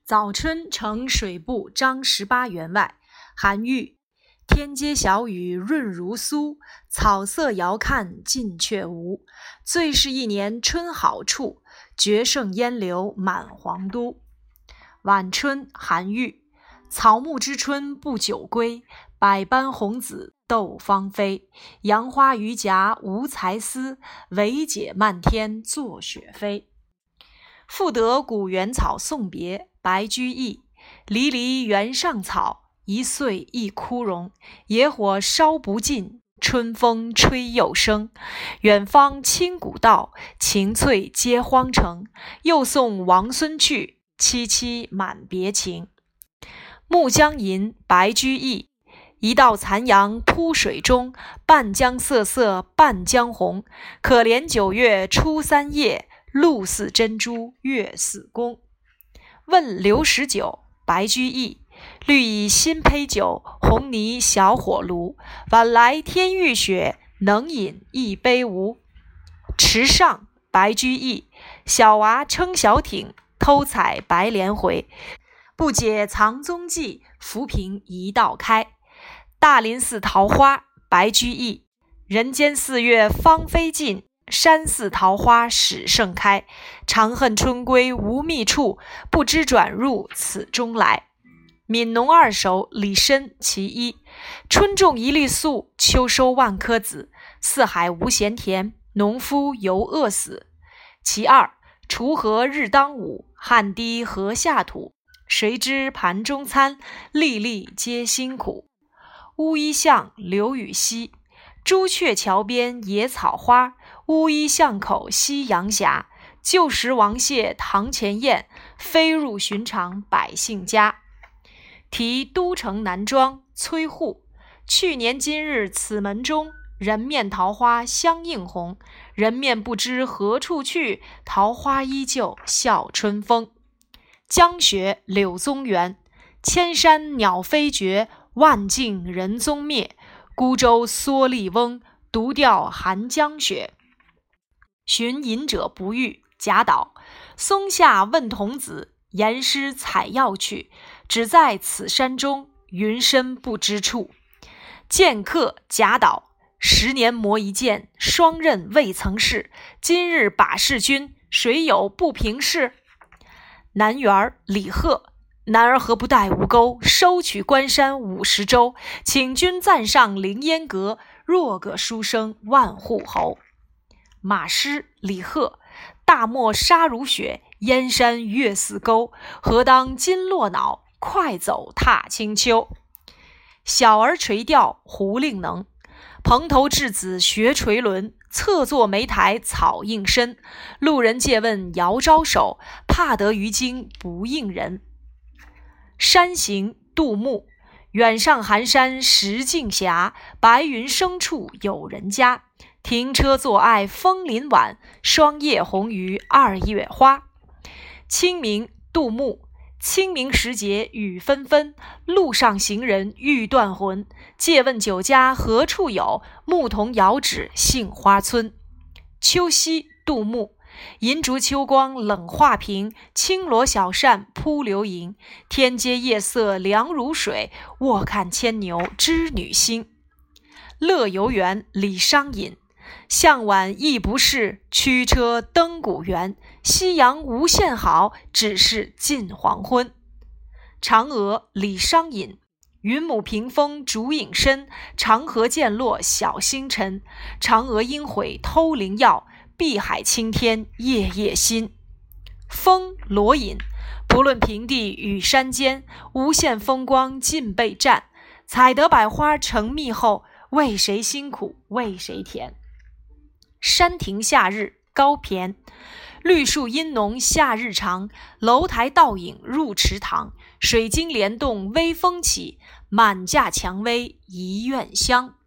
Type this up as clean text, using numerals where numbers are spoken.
早春呈水部张18员外。韩愈。天街小雨润如酥，草色遥看近却无。最是一年春好处，绝胜烟柳满皇都。晚春，韩愈。草木之春不久归，百般红紫斗芳菲。杨花榆荚无才思，惟解漫天作雪飞。赋得古原草送别，白居易。离离原上草，一岁一枯荣。野火烧不尽，春风吹又生。远方清古道，晴翠接荒城。又送王孙去，萋萋满别情。暮江吟，白居易。一道残阳铺水中，半江瑟瑟半江红。可怜9月初3夜，露似珍珠月似弓。问刘十九，白居易。绿蚁新醅酒，红泥小火炉。晚来天欲雪，能饮一杯无？池上，白居易。小娃撑小艇，偷采白莲回。不解藏踪迹，浮萍一道开。大林寺桃花，白居易。人间4月芳菲尽，山寺桃花始盛开。长恨春归无觅处，不知转入此中来。悯农二首，李绅其一。春种一粒粟，秋收万颗子。四海无闲田，农夫犹饿死。其二，锄禾日当午，汗滴禾下土。谁知盘中餐，粒粒皆辛苦。乌衣巷，刘禹锡。朱雀桥边野草花，乌衣巷口夕阳斜。旧时王谢堂前燕，飞入寻常百姓家。题都城南庄，崔护。去年今日此门中，人面桃花相映红。人面不知何处去，桃花依旧笑春风。江雪，柳宗元。千山鸟飞绝，万径人踪灭。孤舟蓑笠翁，独钓寒江雪。寻隐者不遇，贾岛。松下问童子，言师采药去。只在此山中，云深不知处。剑客，贾岛。10年磨一剑，双刃未曾试。今日把示君，谁有不平事？南园，李贺。男儿何不带吴钩，收取关山50州。请君暂上凌烟阁，若个书生万户侯。马师，李贺。大漠沙如雪，燕山月似钩。何当金络脑，快走踏清秋。小儿垂钓，胡令能。蓬头稚子学垂纶，侧坐莓苔草映身。路人借问遥招手，怕得鱼惊不应人。山行，杜牧。远上寒山石径斜，白云生处有人家。停车坐爱枫林晚，霜叶红于2月花。清明，杜牧。清明时节雨纷纷，路上行人欲断魂。借问酒家何处有，牧童遥指杏花村。秋夕，杜牧。银烛秋光冷画屏，轻罗小扇扑流萤。天阶夜色凉如水，卧看牵牛织女星。乐游原，李商隐。向晚意不适，驱车登古原。夕阳无限好，只是近黄昏。嫦娥，李商隐。云母屏风烛影深，长河渐落晓星沉。嫦娥应悔偷灵药，碧海青天夜夜心。风，罗隐。不论平地与山间，无限风光尽被占。采得百花成蜜后，为谁辛苦为谁甜。山亭夏日，高骈。绿树阴浓夏日长，楼台倒影入池塘。水晶帘动微风起，满架蔷薇一院香。